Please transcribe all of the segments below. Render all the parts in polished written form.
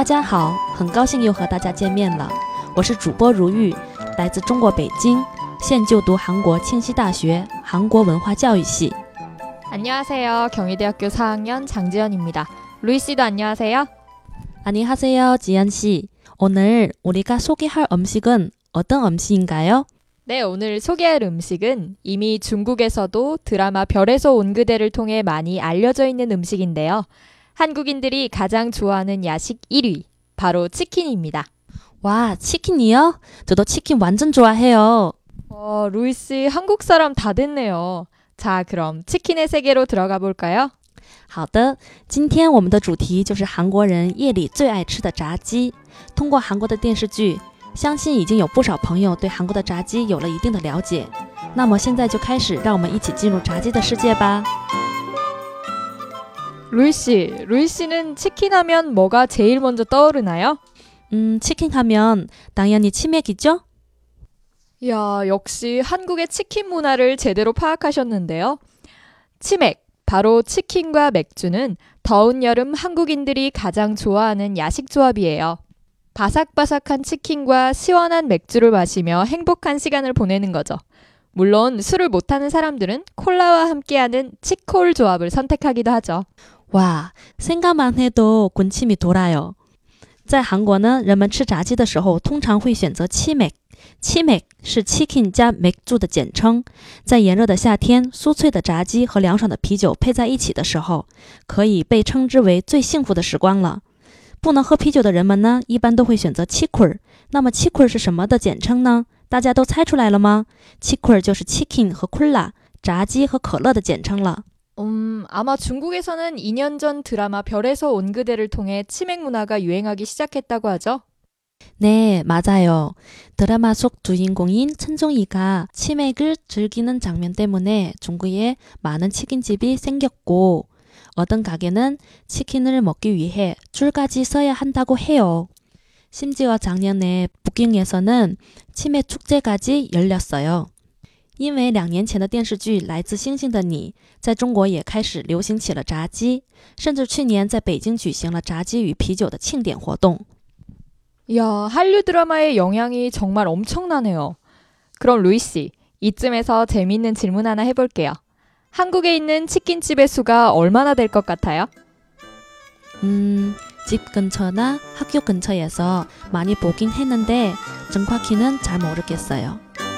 大家好，很高兴又和大家见面了。我是主播如玉，来自中国北京，现就读韩国庆熙大学韩国文化教育系。 안녕하세요. 경희대학교 4학년 장지연입니다. 루이씨도 안녕하세요. 안녕하세요, 지연씨. 오늘 우리가 소개할 음식은 어떤 음식인가요? 네, 오늘 소개할 음식은 이미 중국에서도 드라마 별에서 온 그대를 통해 많이 알려져 있는 음식인데요. 한국인들이 가장 좋아하는 야식 1위, 바로 치킨입니다. 와, 치킨이요? 저도 치킨 완전 좋아해요. 루이씨 한국 사람 다 됐네요. 자, 그럼 치킨의 세계로 들어가 볼까요? 好的，今天我们的主题就是韩国人夜里最爱吃的炸鸡。通过韩国的电视剧，相信已经有不少朋友对韩国的炸鸡有了一定的了解。那么现在就开始，让我们一起进入炸鸡的世界吧。 루이씨는 치킨 하면 뭐가 제일 먼저 떠오르나요? 치킨 하면 당연히 치맥이죠? 이야, 역시 한국의 치킨 문화를 제대로 파악하셨는데요. 치맥, 바로 치킨과 맥주는 더운 여름 한국인들이 가장 좋아하는 야식 조합이에요. 바삭바삭한 치킨과 시원한 맥주를 마시며 행복한 시간을 보내는 거죠. 물론 술을 못하는 사람들은 콜라와 함께하는 치콜 조합을 선택하기도 하죠. 와, 생각만 해도 군침이 돌아요. 在韩国呢，人们吃炸鸡的时候通常会选择치맥。치맥是 chicken 加 맥주的简称。在炎热的夏天，酥脆的炸鸡和凉爽的啤酒配在一起的时候，可以被称之为最幸福的时光了。不能喝啤酒的人们呢，一般都会选择치콜。那么치콜是什么的简称呢？大家都猜出来了吗？치콜就是 chicken 和콜라，炸鸡和可乐的简称了。 아마 중국에서는 2년 전 드라마 별에서 온 그대를 통해 치맥 문화가 유행하기 시작했다고 하죠? 네, 맞아요. 드라마 속 주인공인 천종이가 치맥을 즐기는 장면 때문에 중국에 많은 치킨집이 생겼고 어떤 가게는 치킨을 먹기 위해 줄까지 서야 한다고 해요. 심지어 작년에 북경에서는 치맥 축제까지 열렸어요. 因为2年前的电视剧《来自星星的你》在中国也开始流行起了炸鸡，甚至去年在北京举行了炸鸡与啤酒的庆典活动。 이야, 한류 드라마의 영향이 정말 엄청나네요. 그럼 루이씨, 이쯤에서 재미있는 질문 하나 해볼게요. 한국에 있는 치킨집의 수가 얼마나 될 것 같아요? 집 근처나 학교 근처에서 많이 보긴 했는데 정확히는 잘 모르겠어요.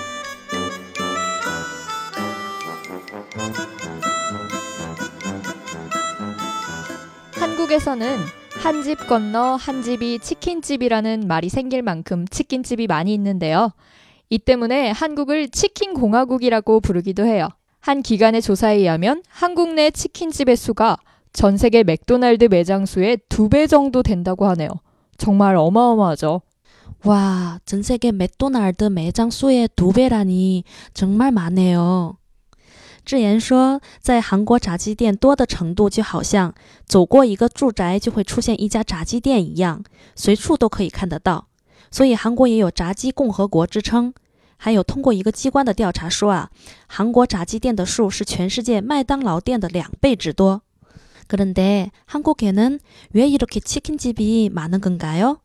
한국에서는 한 집 건너 한 집이 치킨집이라는 말이 생길 만큼 치킨집이 많이 있는데요. 이 때문에 한국을 치킨공화국이라고 부르기도 해요. 한 기관의 조사에 의하면 한국 내 치킨집의 수가 전 세계 맥도날드 매장 수의 2배 정도 된다고 하네요. 정말 어마어마하죠. 와, 전 세계 맥도날드 매장 수의 2배라니 정말 많네요. 智妍说，在韩国炸鸡店多的程度就好像走过一个住宅就会出现一家炸鸡店一样，随处都可以看得到。所以韩国也有炸鸡共和国之称。还有通过一个机关的调查说啊，韩国炸鸡店的数是全世界麦当劳店的2倍之多。 그런데 한국에는 왜 이렇게 치킨집이 많은 건가요?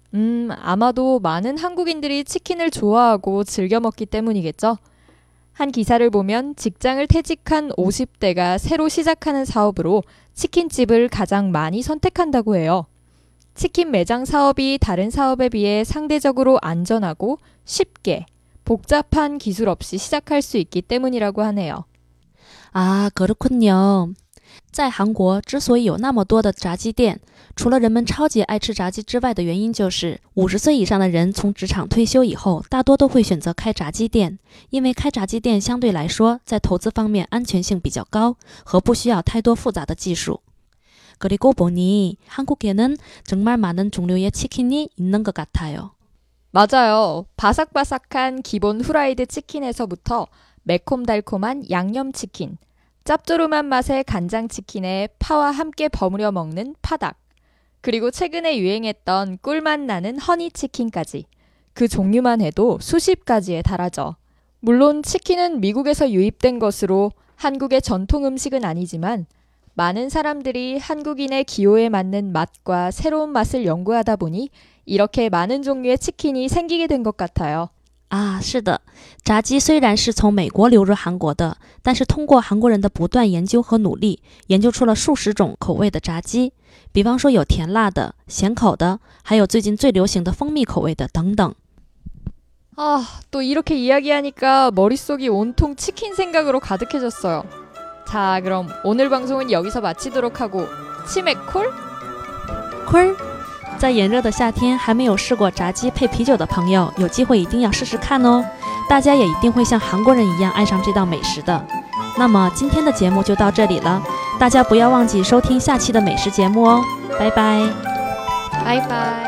아마도 많은 한국인들이 치킨을 좋아하고 즐겨 먹기 때문이겠죠. 한 기사를 보면 직장을 퇴직한 50대가 새로 시작하는 사업으로 치킨집을 가장 많이 선택한다고 해요. 치킨 매장 사업이 다른 사업에 비해 상대적으로 안전하고 쉽게 복잡한 기술 없이 시작할 수 있기 때문이라고 하네요. 아, 그렇군요. 在韩国之所以有那么多的炸鸡店，除了人们超级爱吃炸鸡之外的原因就是50岁以上的人从职场退休以后大多都会选择开炸鸡店，因为开炸鸡店相对来说在投资方面安全性比较高和不需要太多复杂的技术。 그리고 보니 한국에는 정말 많은 종류의 치킨이 있는 것 같아요. 맞아요. 바삭바삭한 기본 후라이드 치킨에서부터 매콤달콤한 양념치킨, 짭조름한 맛의 간장치킨에 파와 함께 버무려 먹는 파닭, 그리고 최근에 유행했던 꿀맛 나는 허니치킨까지 그 종류만 해도 수십 가지에 달하죠. 물론 치킨은 미국에서 유입된 것으로 한국의 전통 음식은 아니지만 많은 사람들이 한국인의 기호에 맞는 맛과 새로운 맛을 연구하다 보니 이렇게 많은 종류의 치킨이 생기게 된 것 같아요. 啊，是的，炸鸡虽然是从美国流入韩国的，但是通过韩国人的不断研究和努力，研究出了数十种口味的炸鸡。比方说有甜辣的、咸口的，还有最近最流行的蜂蜜口味的等等。 또 이렇게 이야기하니까 머릿속이 온통 치킨 생각으로 가득해졌어요. 자, 그럼 오늘 방송은 여기서 마치도록 하고 치맥 콜? 콜！在炎热的夏天还没有试过炸鸡配啤酒的朋友，有机会一定要试试看哦！大家也一定会像韩国人一样爱上这道美食的。那么今天的节目就到这里了，大家不要忘记收听下期的美食节目哦！拜拜， 拜拜。